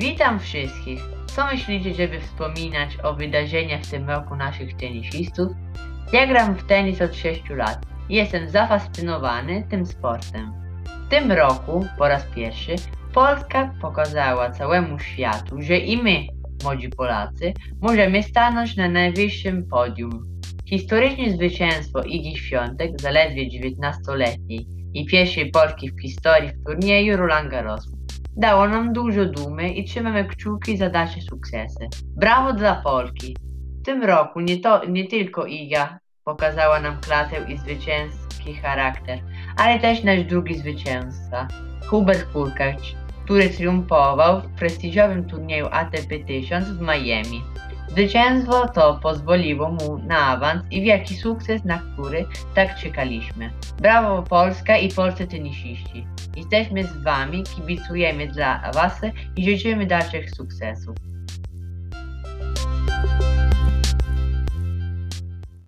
Witam wszystkich. Co myślicie, żeby wspominać o wydarzeniach w tym roku naszych tenisistów? Ja gram w tenis od 6 lat i jestem zafascynowany tym sportem. W tym roku, po raz pierwszy, Polska pokazała całemu światu, że i my, młodzi Polacy, możemy stanąć na najwyższym podium. Historyczne zwycięstwo Igi Świątek, zaledwie 19-letniej i pierwszej Polki w historii w turnieju Roland Garros, dało nam dużo dumy i trzymamy kciuki za dalsze sukcesy. Brawo dla Polki! W tym roku nie tylko Iga pokazała nam klasę i zwycięski charakter, ale też nasz drugi zwycięzca, Hubert Hurkacz, który triumfował w prestiżowym turnieju ATP 1000 w Miami. Zwycięstwo to pozwoliło mu na awans i wielki sukces, na który tak czekaliśmy. Brawo Polska i polscy tenisiści. Jesteśmy z wami, kibicujemy dla was i życzymy dalszych sukcesów.